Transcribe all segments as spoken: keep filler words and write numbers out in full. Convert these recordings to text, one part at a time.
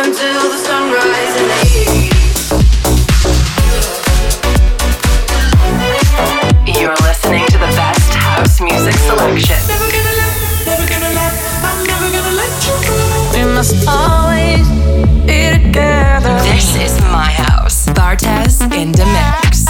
until the sunrise in the east. You're listening to the best house music selection. Never gonna let, never gonna let, I'm never gonna let you go. We must always be together. This is my house. Bartez in the mix.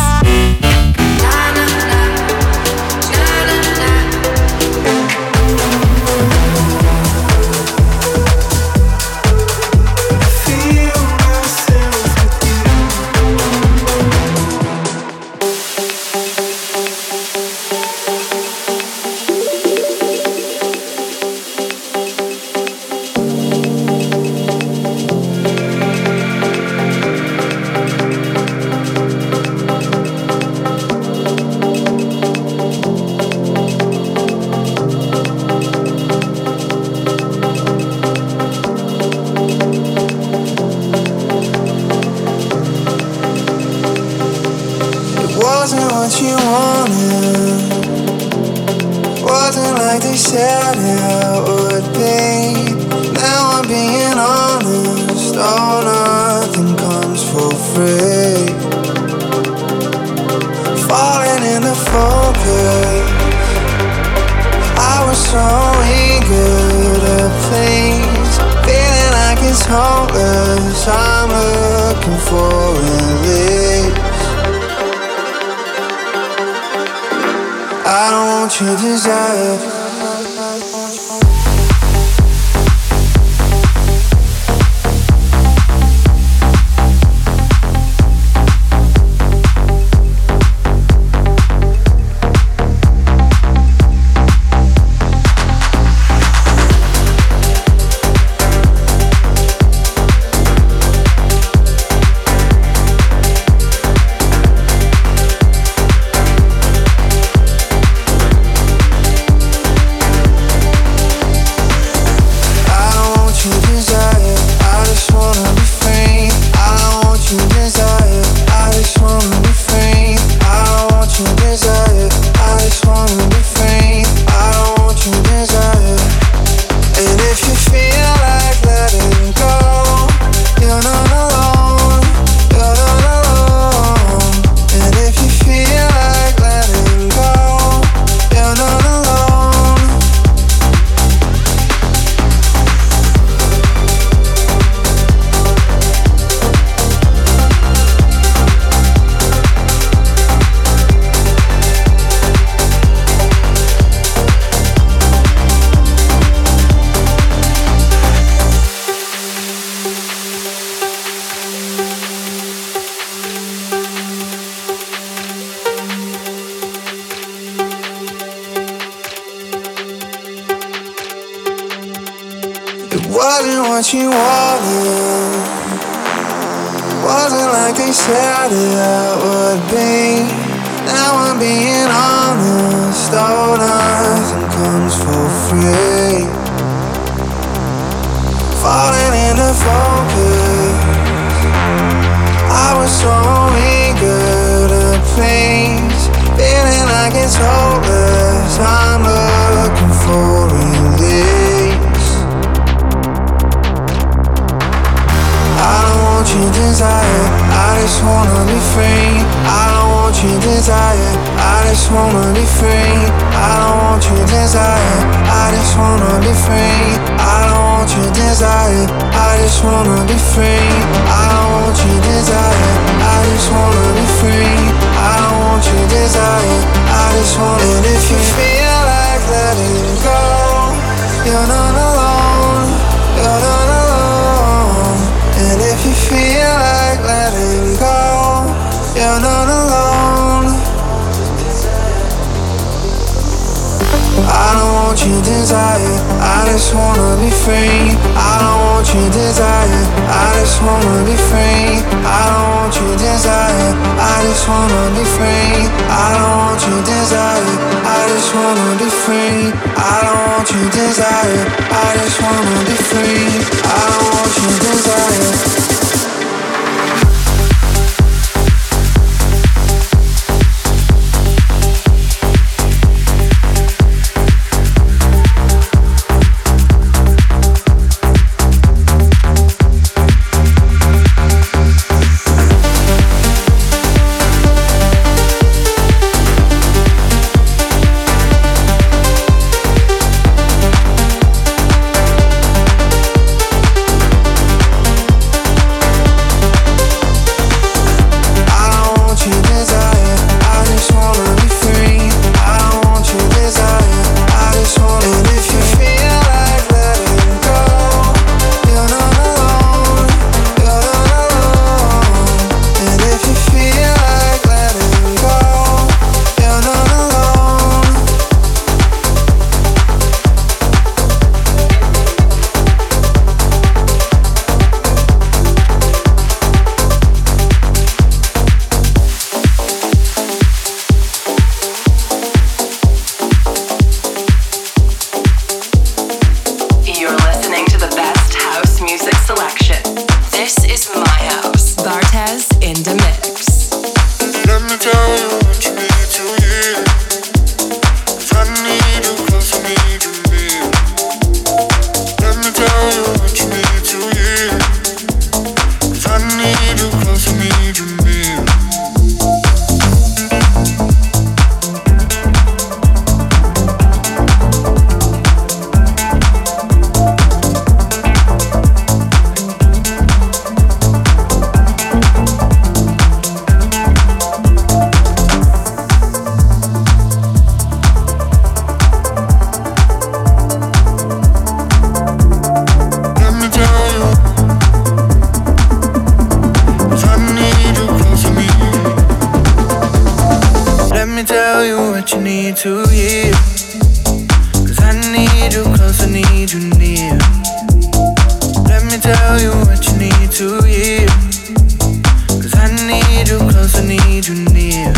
to you. Cause I need you close, I need you near. Let me tell you what you need to hear. Cause I need you close, I need you near.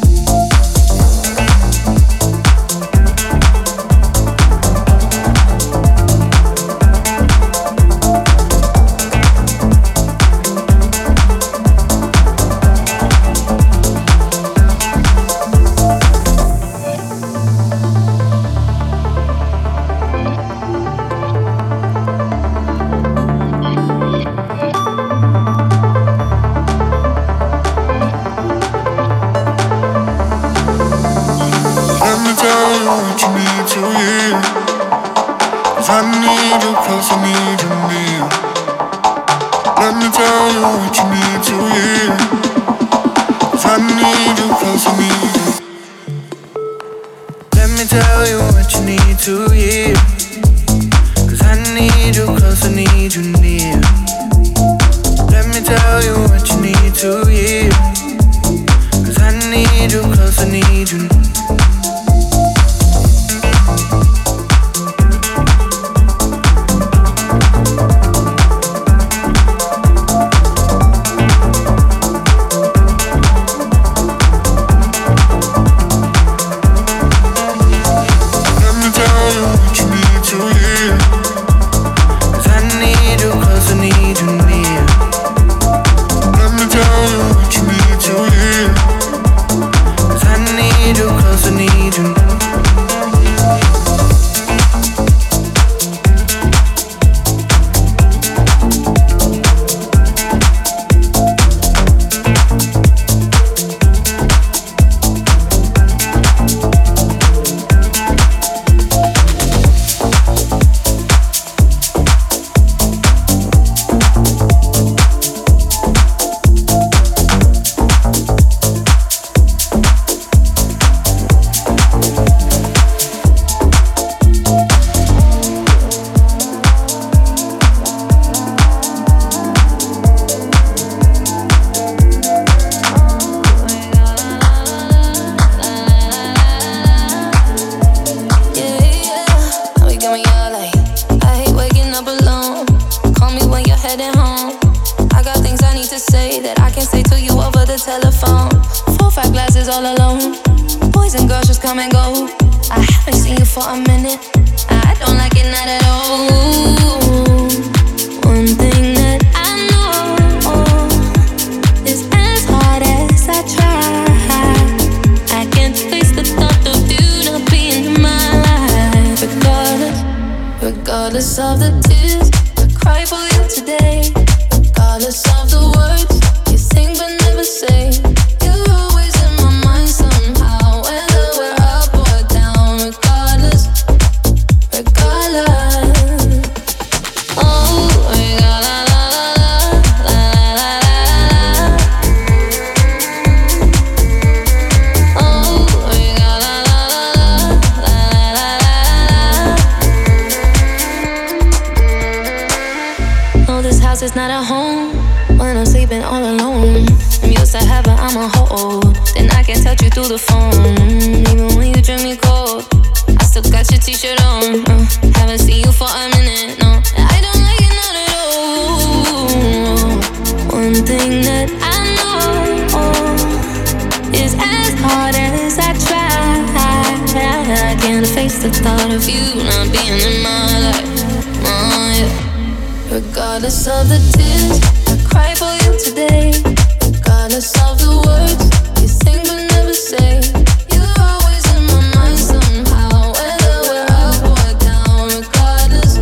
Regardless of the tears I cry for you today, regardless of the words you think but never say, you're always in my mind somehow, whether we're up or down. Regardless,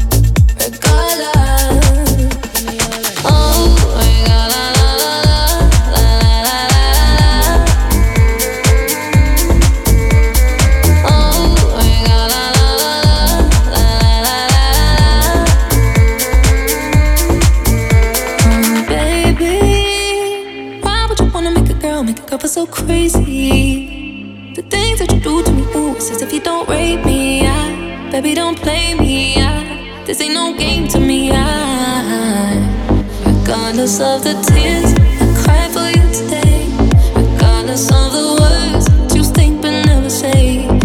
regardless. Oh, regardless. So crazy, the things that you do to me, ooh, it's as if you don't rape me, I, baby, don't play me, I, this ain't no game to me, I, regardless of the tears I cry for you today, regardless of the words you think but never say.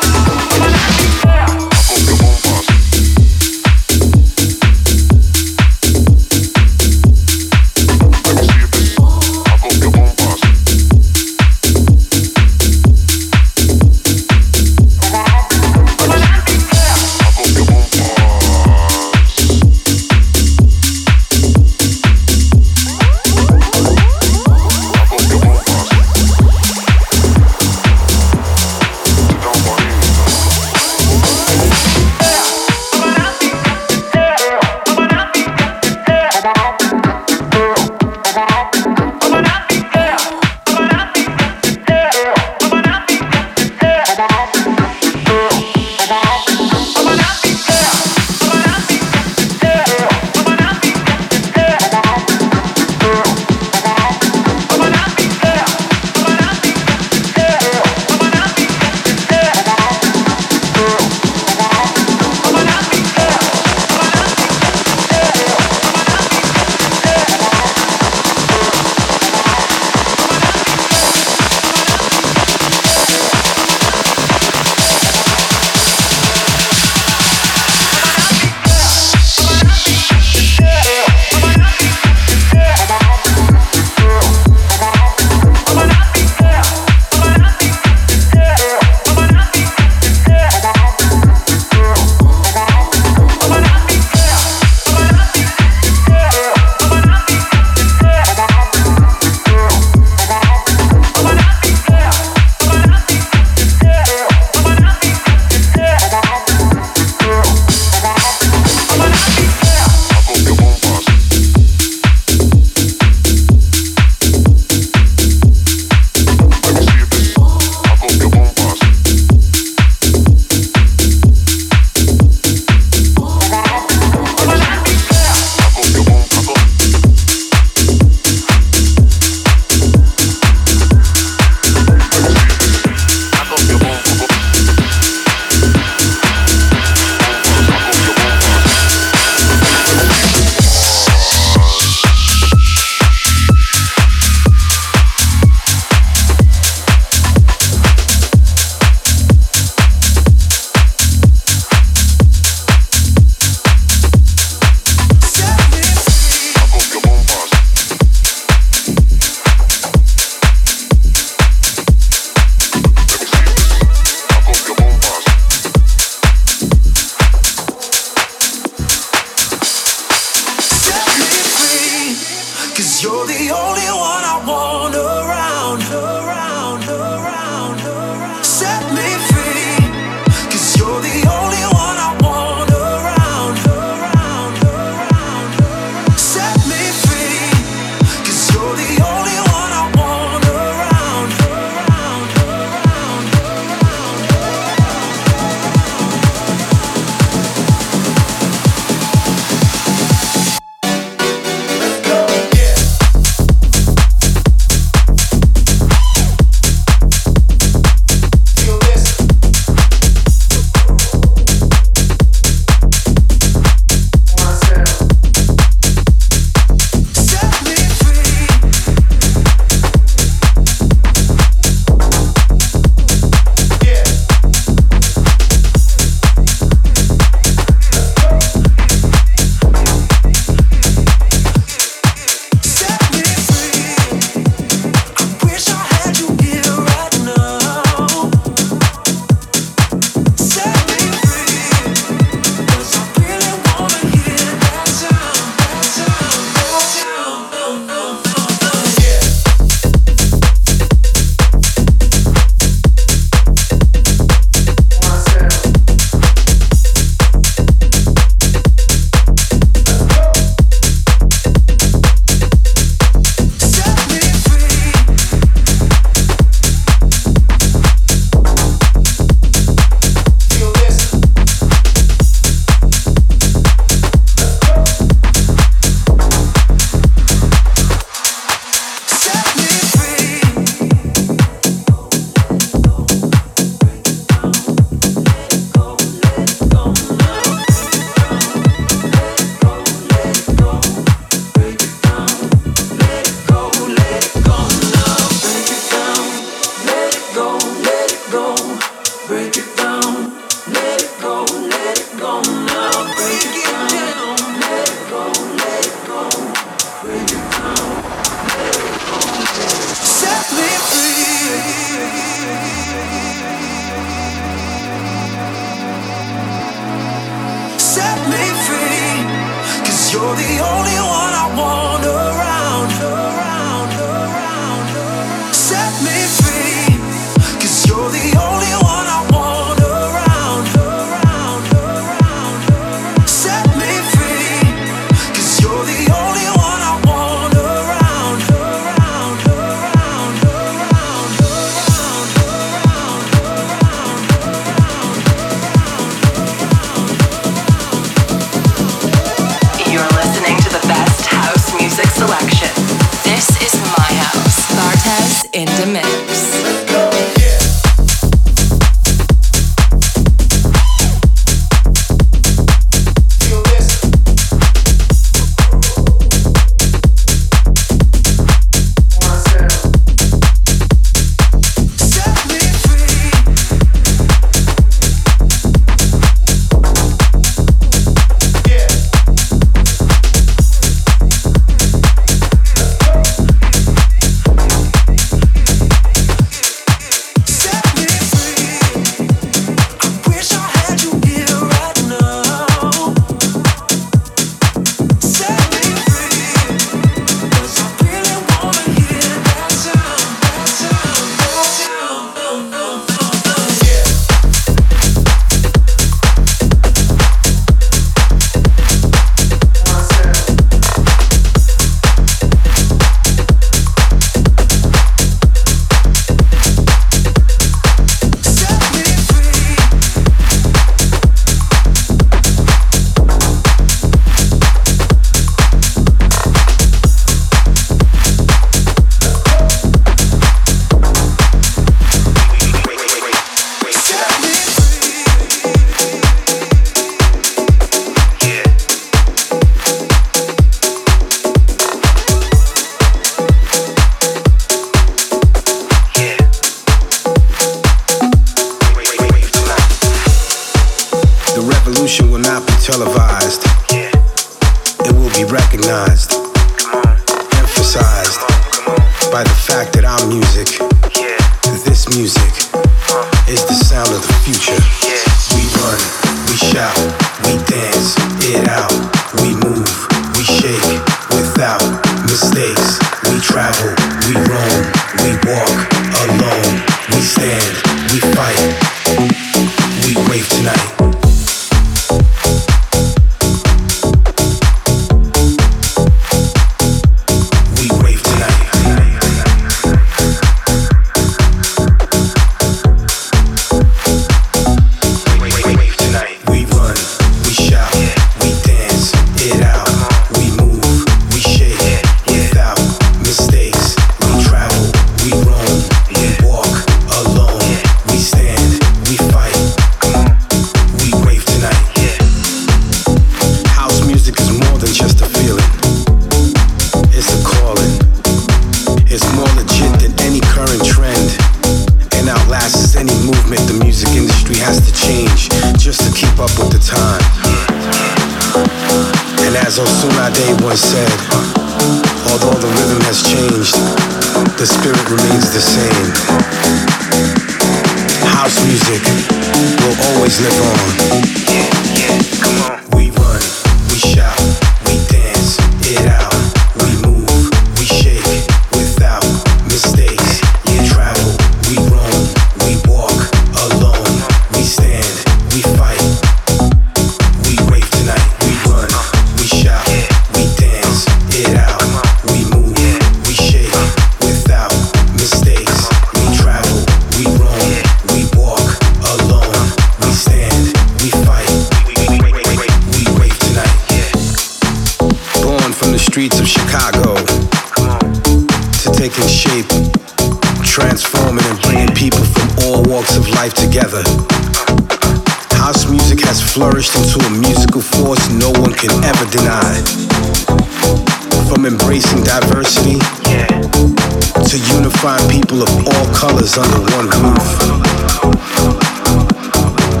Under one roof.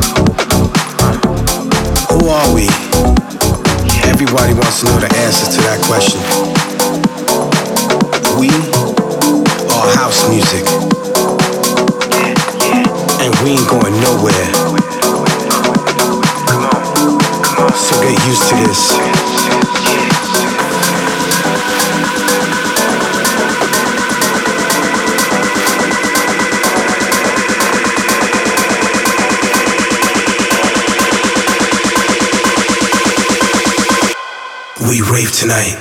Everybody wants to know the answers to that question. We are house music, and we ain't going nowhere. So get used to this. We rave tonight.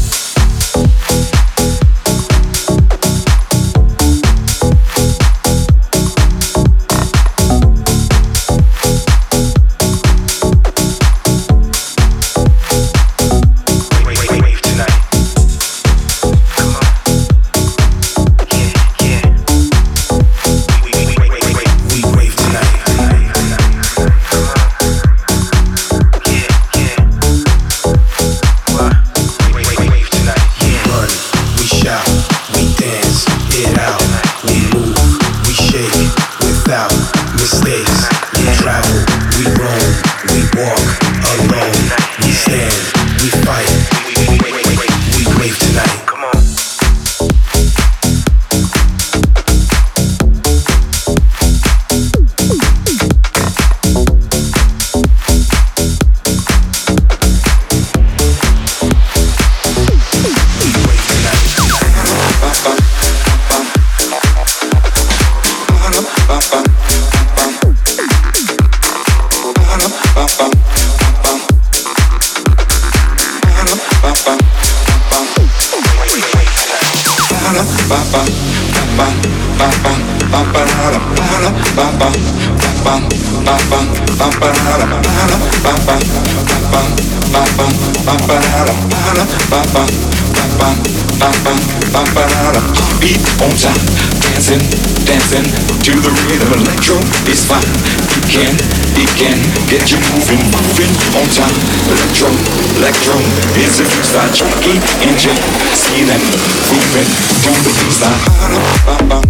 Beat on time, dancing, dancing to the rhythm. Electro is fine. It can, it can get you moving, moving on time. Electro, electro is a freestyle. Jackie and Jay, see them moving to the freestyle.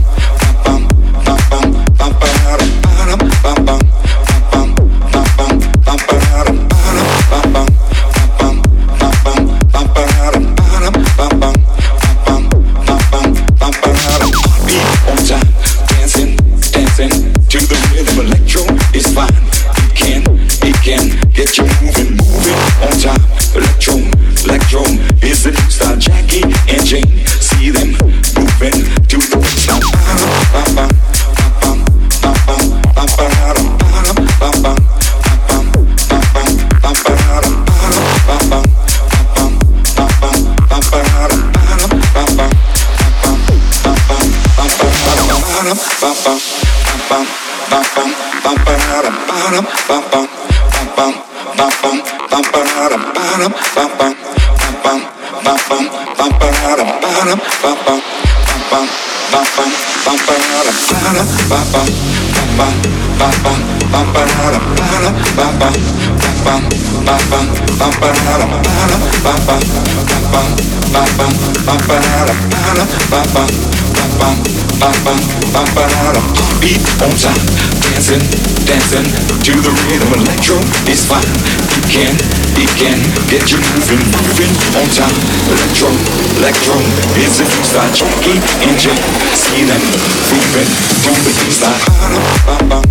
Beat on time, dancing, dancing to the rhythm. Electro is fine. It can, it can get you moving, moving on time. Electro, electro is a freestyle. Jackie and Jay, see them moving to the freestyle.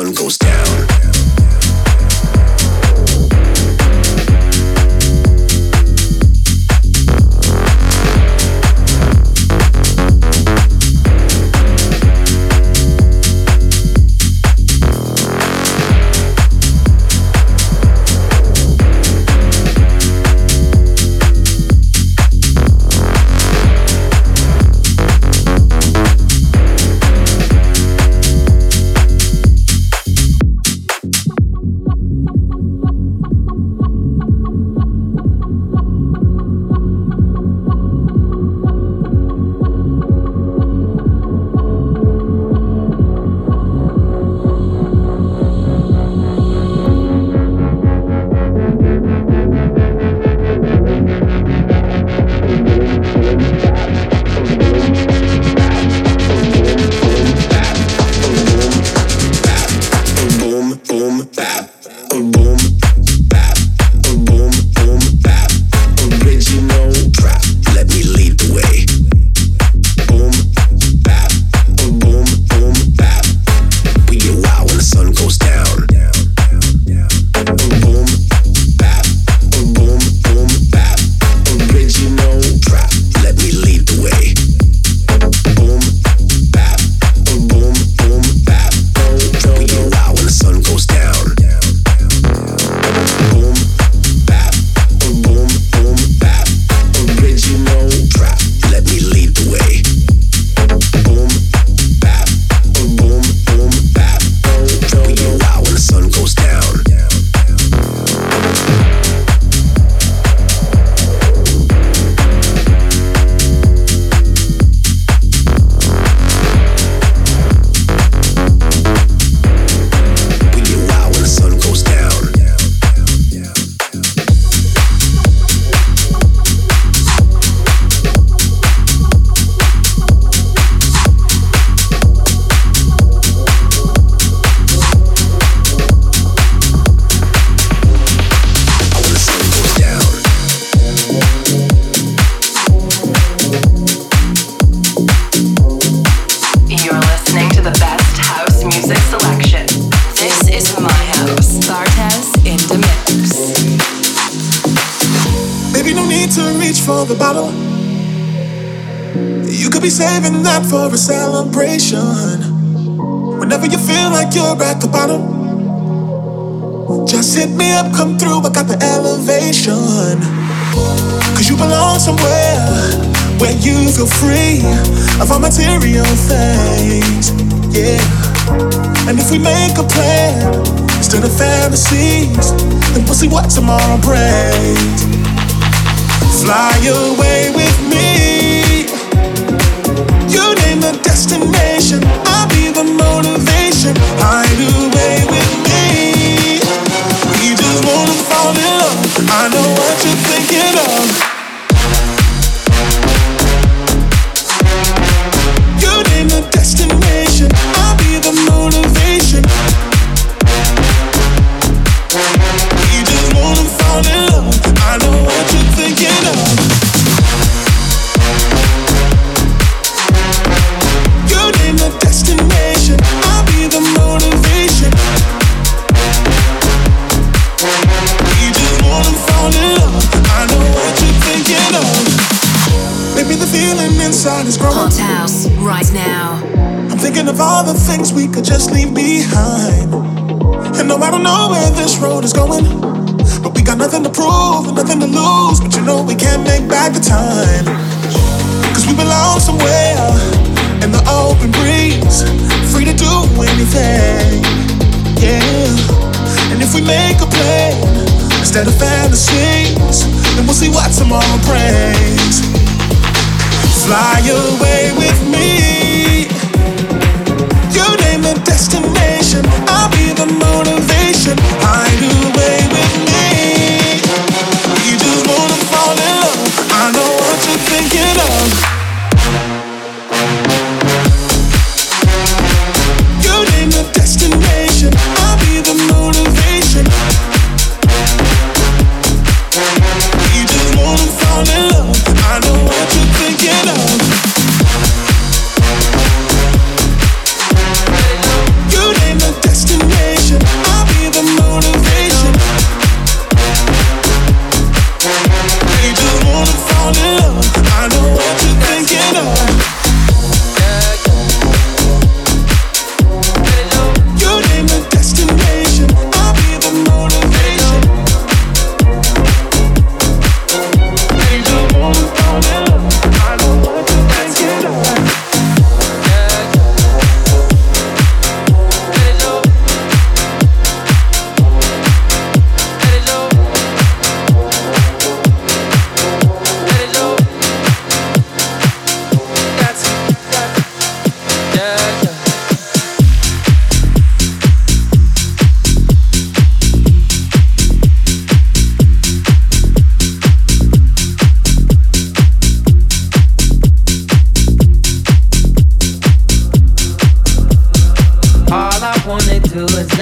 sun goes down. Saving that for a celebration. Whenever you feel like you're at the bottom, just hit me up, come through, I got the elevation. Cause you belong somewhere where you feel free of all material things, yeah. And if we make a plan instead of fantasies, then we'll see what tomorrow brings. Fly away with me. You name the destination, I'll be the motivation. Hide away with me. We just wanna fall in love. I know what you're thinking of. You name the destination, I'll be the motivation. We just wanna fall in love. I know what you're thinking of. Destination, I'll be the motivation. We just wanna fall in love. I know what you're thinking of. Maybe the feeling inside is growing. Hot House, right now. I'm thinking of all the things we could just leave behind. And no, I don't know where this road is going, but we got nothing to prove and nothing to lose. But you know we can't make back the time, cause we belong somewhere in the open breeze, free to do anything, yeah. And if we make a plan instead of fantasies, then we'll see what tomorrow brings. Fly away with me. You name the destination, I'll be the motivation. Hide away with me. We just wanna fall in love. I know what you're thinking of. Destination, I'll be the motivation. We just wanna fall in love. I know what you're thinking of.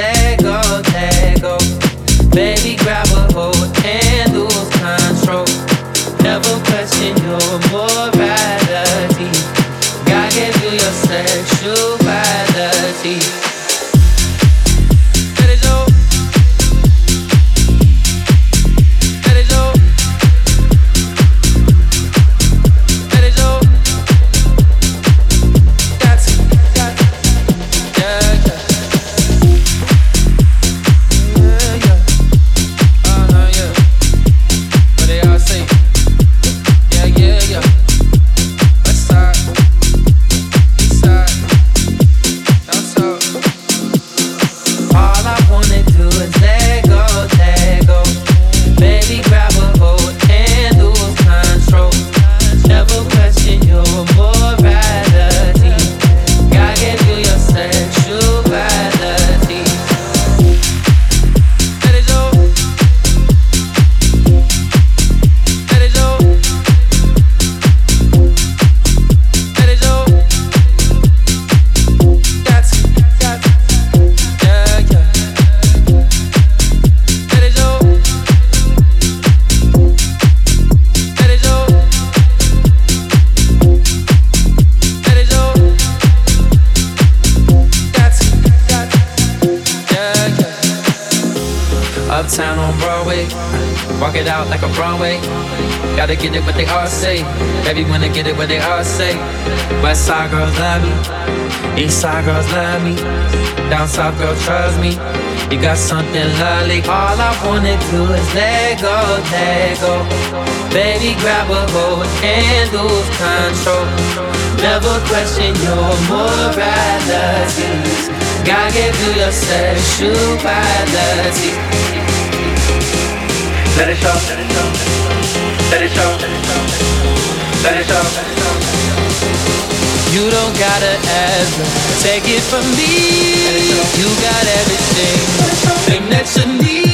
let go, let go. Baby, grab a hold and lose control. Never question your morality. God gave you your sexuality. Let it go. Let it go. Let it go. That's it. That's it. Yeah, yeah. Yeah, yeah. Uh-huh, yeah. What they all say. Yeah, yeah, yeah. West side, east side, down south. All I wanna do is let go, let go. Baby, grab a hold and lose control. Never question your morality. God gave you your sexuality. Let it go. Let it go. Let it go. That's it. That's it. Yeah, yeah. Let it go. Let it go. Let it go. That's it. That's it. Yeah, yeah. Uptown on Broadway, walk it out like a Broadway. Gotta get it what they all say. Baby, wanna get it what they all say. West side girls love me, east side girls love me, down south girl trust me. You got something lovely. All I wanna do is let go, let go. Baby, grab a hold and lose control. Never question your morality. God gave you your sexuality. Let it show, let it show, let it show, let it show. You don't gotta ever take it from me. You got everything, everything that you need.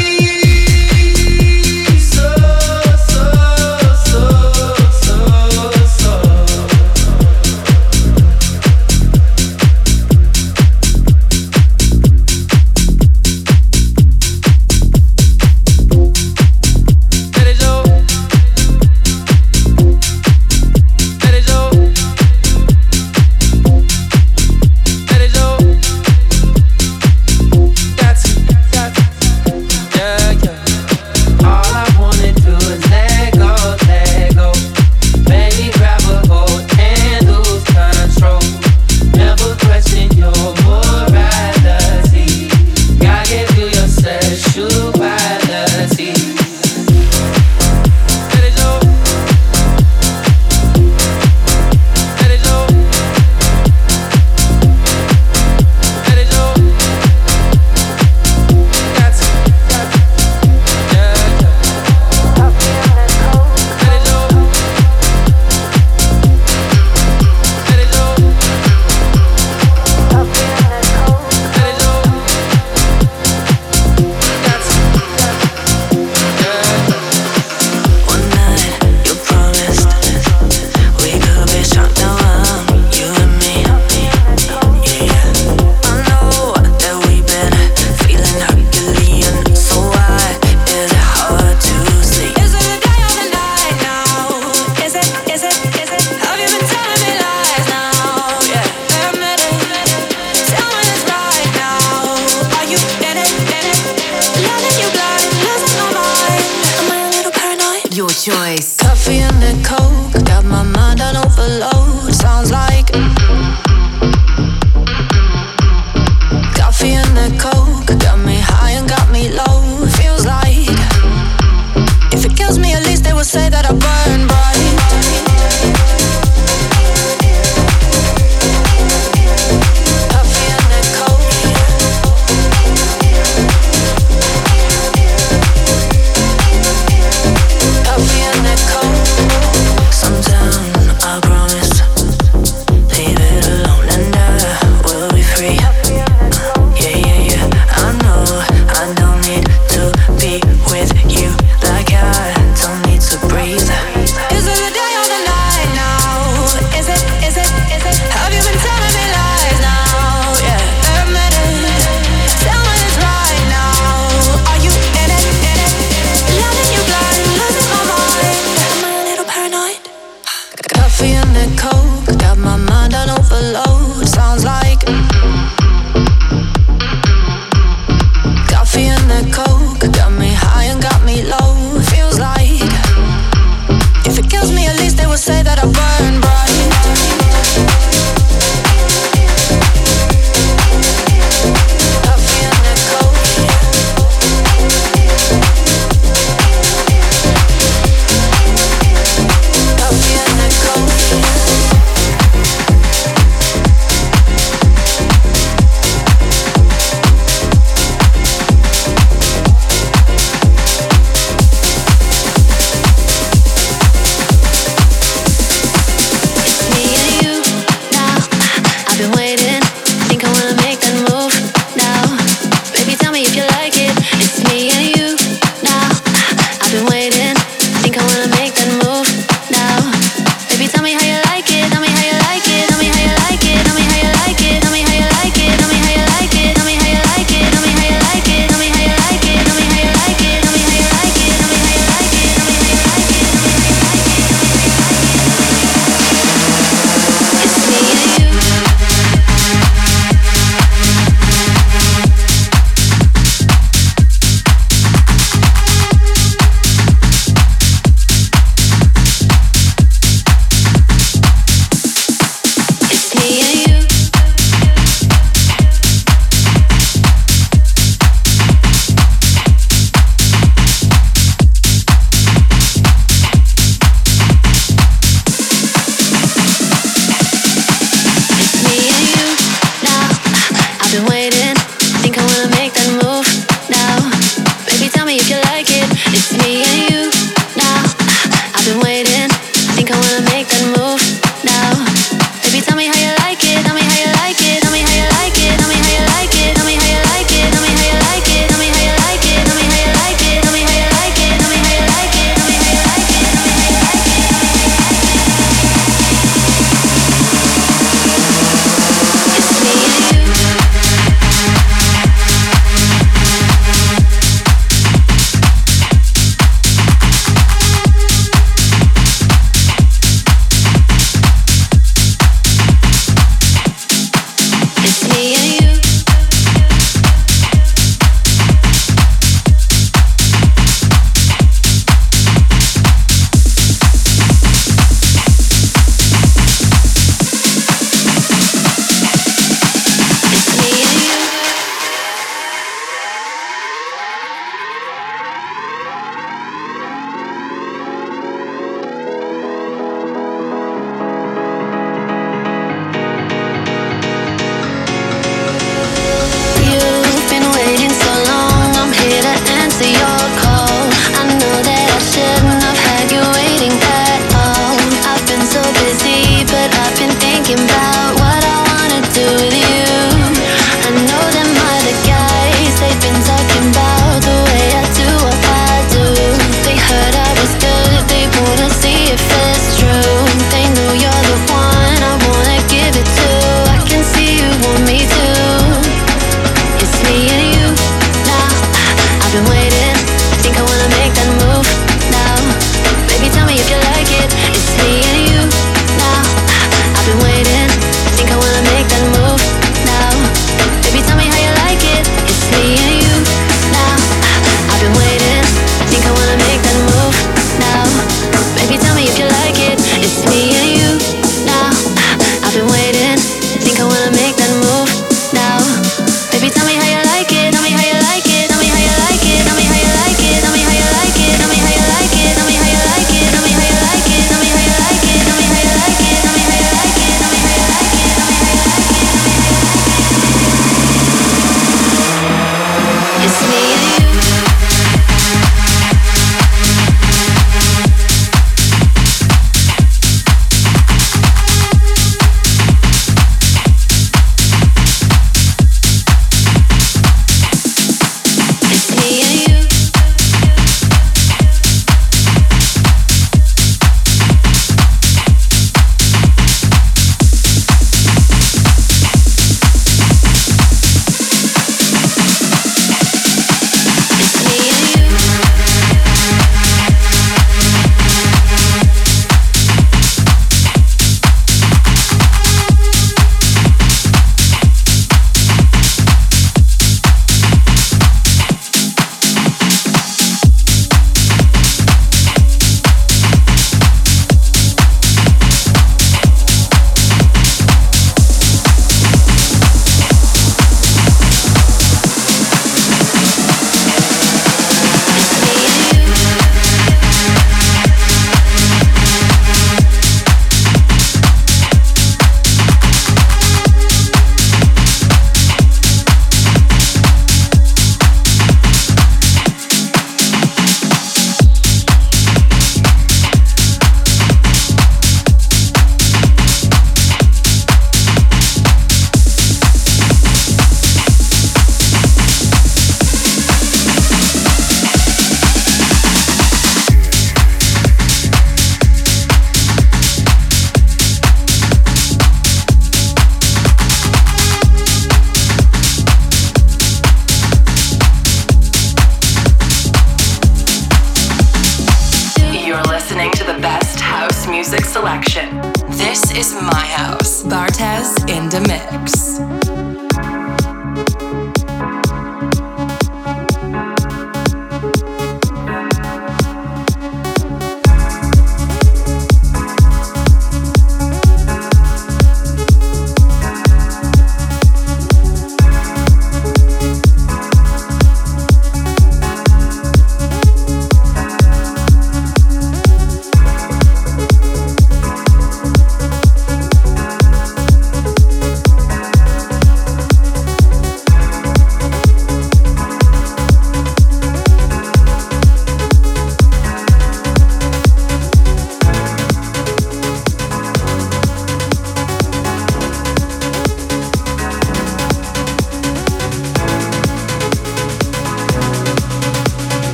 So, so, so, so, so. Let it go. Let it go. Let it go. That's it. That's it. Yeah, yeah. All I wanna do is let go, let go. Baby, grab a hold and lose control. Never question your morality. God gave you your sexuality. Let it go. Let it go. Let it go. That's it. That's it. Yeah, yeah. Let it go. Let it go. Let it go. That's it. That's it. Yeah, yeah. One night, you promised we could be strong now, you and me. Yeah, I know that we've been feeling Herculean, so why is it hard to sleep? Is it the day or the night now? Is it, is it, is it? Have you been telling me lies now? Yeah, admit it. Tell me it's right now. Are you in it, in it? Letting you blind, losing my mind. Am I a little paranoid? Your choice. Coffee and the coke, got my mind on overload. Sounds like coffee and the coke, got me high and got me low. Feels like if it kills me, at least they will say that I burn bright. Coffee and the coke. Coffee and the coke. Sometime I promise, leave it alone and I will be free. Yeah, yeah, yeah. I know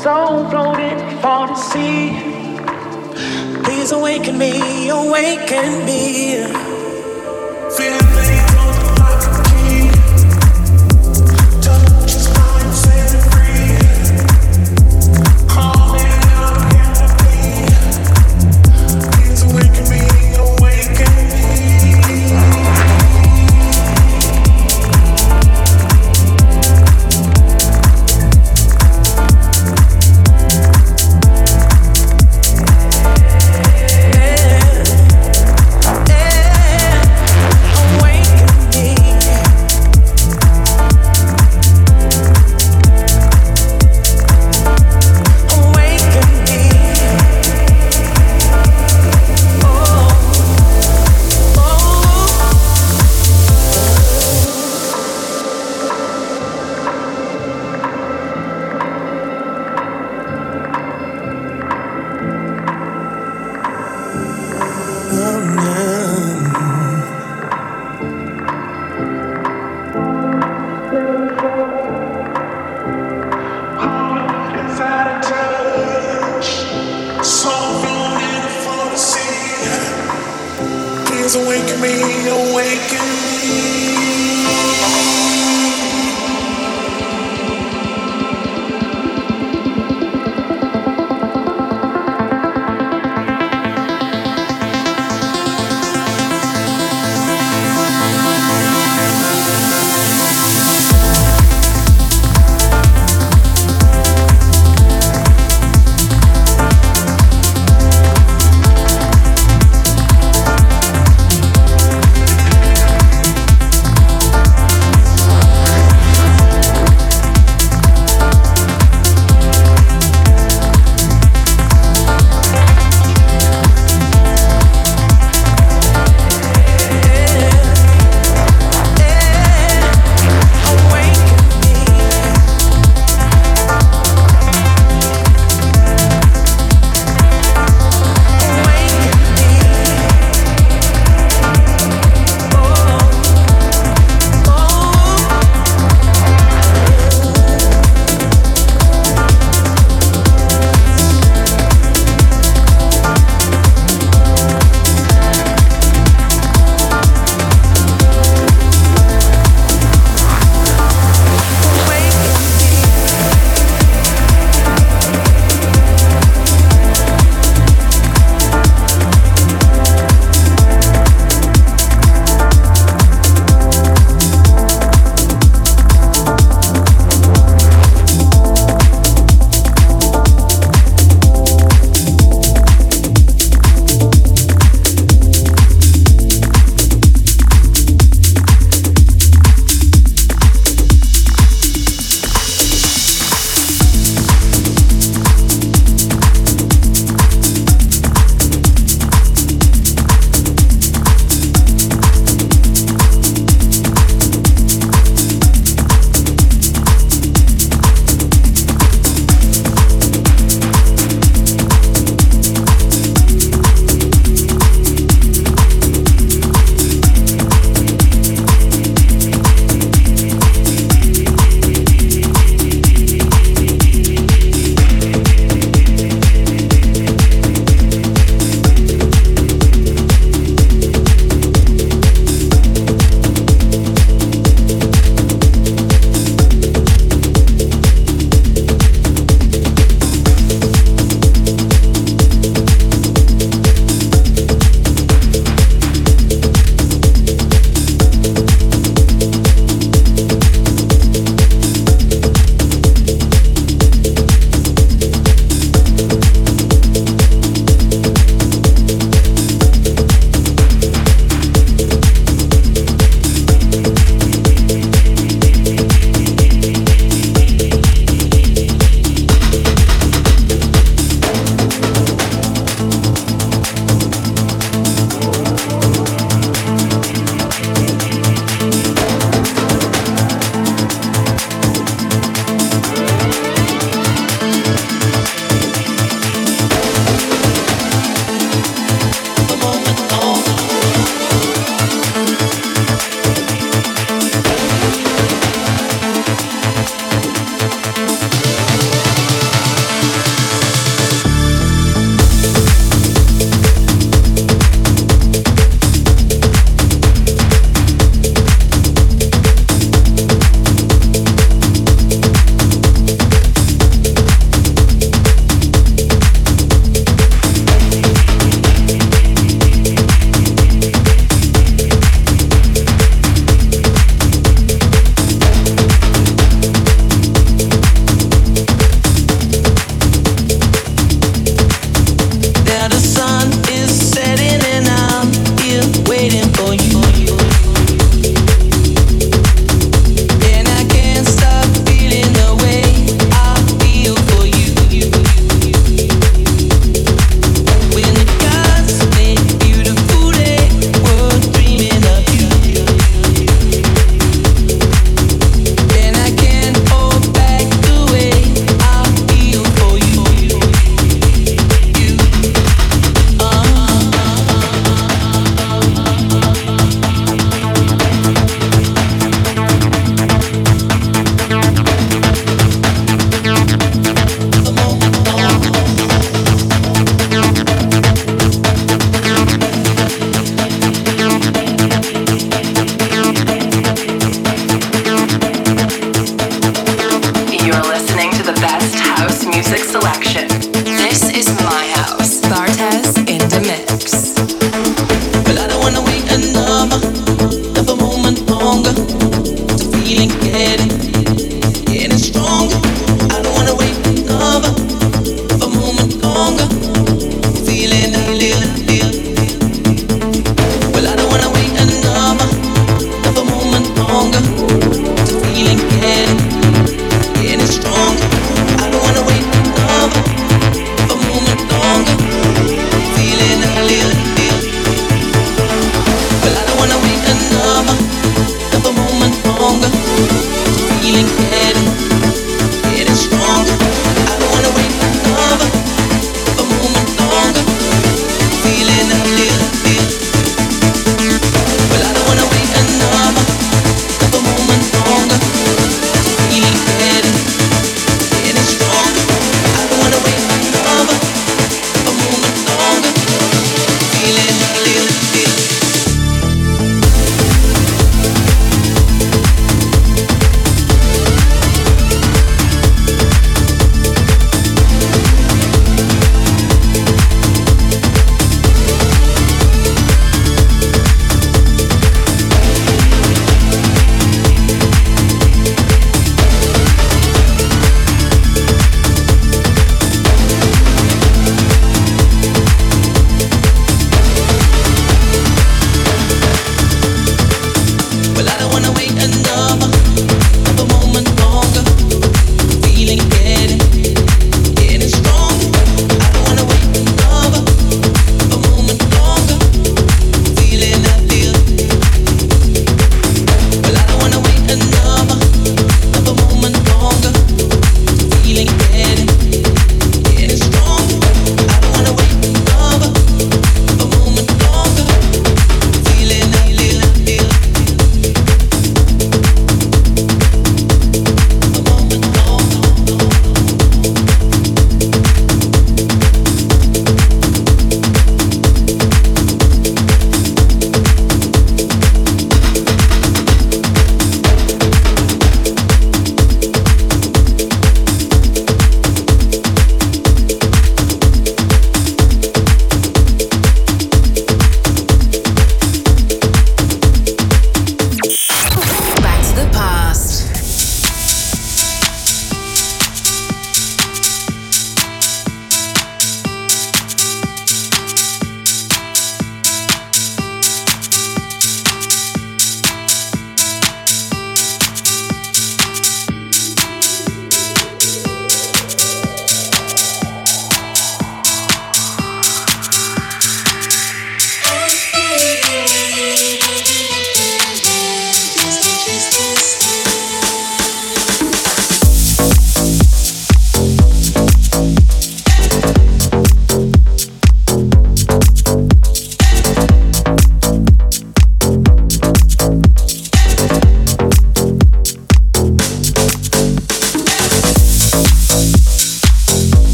soul floating for the sea. Please awaken me, awaken me. Feeling things on like a key. Touch is mine, set me free. Call me out of here. Please awaken me, awaken me.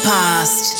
past.